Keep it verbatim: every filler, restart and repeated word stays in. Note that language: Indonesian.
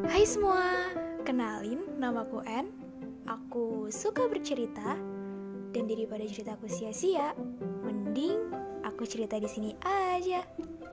Hai semua, kenalin namaku Ann. Aku suka bercerita dan daripada ceritaku sia-sia, mending aku cerita di sini aja.